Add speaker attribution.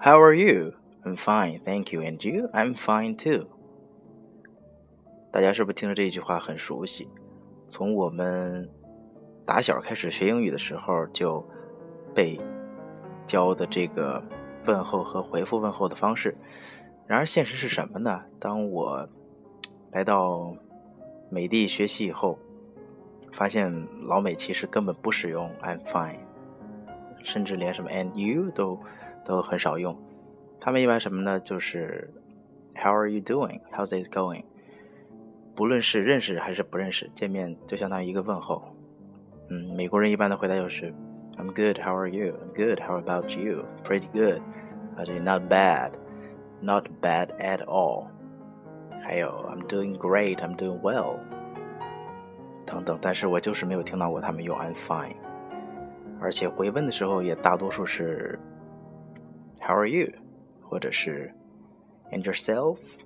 Speaker 1: How are you? I'm fine, thank you. And you? I'm fine too. 大家是不是听着这句话很熟悉？从我们打小开始学英语的时候就被教的这个问候和回复问候的方式。然而现实是什么呢？当我来到美的学习以后，发现老美其实根本不使用 I'm fine， 甚至连什么 and you 都很少用。他们一般什么呢？就是 How are you doing? How's it going? 不论是认识还是不认识，见面就相当于一个问候。美国人一般的回答就是 I'm good, how are you? I'm good, how about you? Pretty good. Not bad. Not bad at all. 还有 I'm doing great, I'm doing well. 等等，但是我就是没有听到过他们用 I'm fine。而且回问的时候也大多数是 How are you? 或者是 And yourself?